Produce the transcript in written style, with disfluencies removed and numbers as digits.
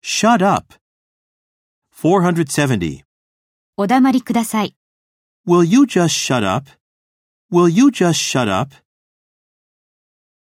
Shut up. 470. お黙りください。 Will you just shut up? Will you just shut up?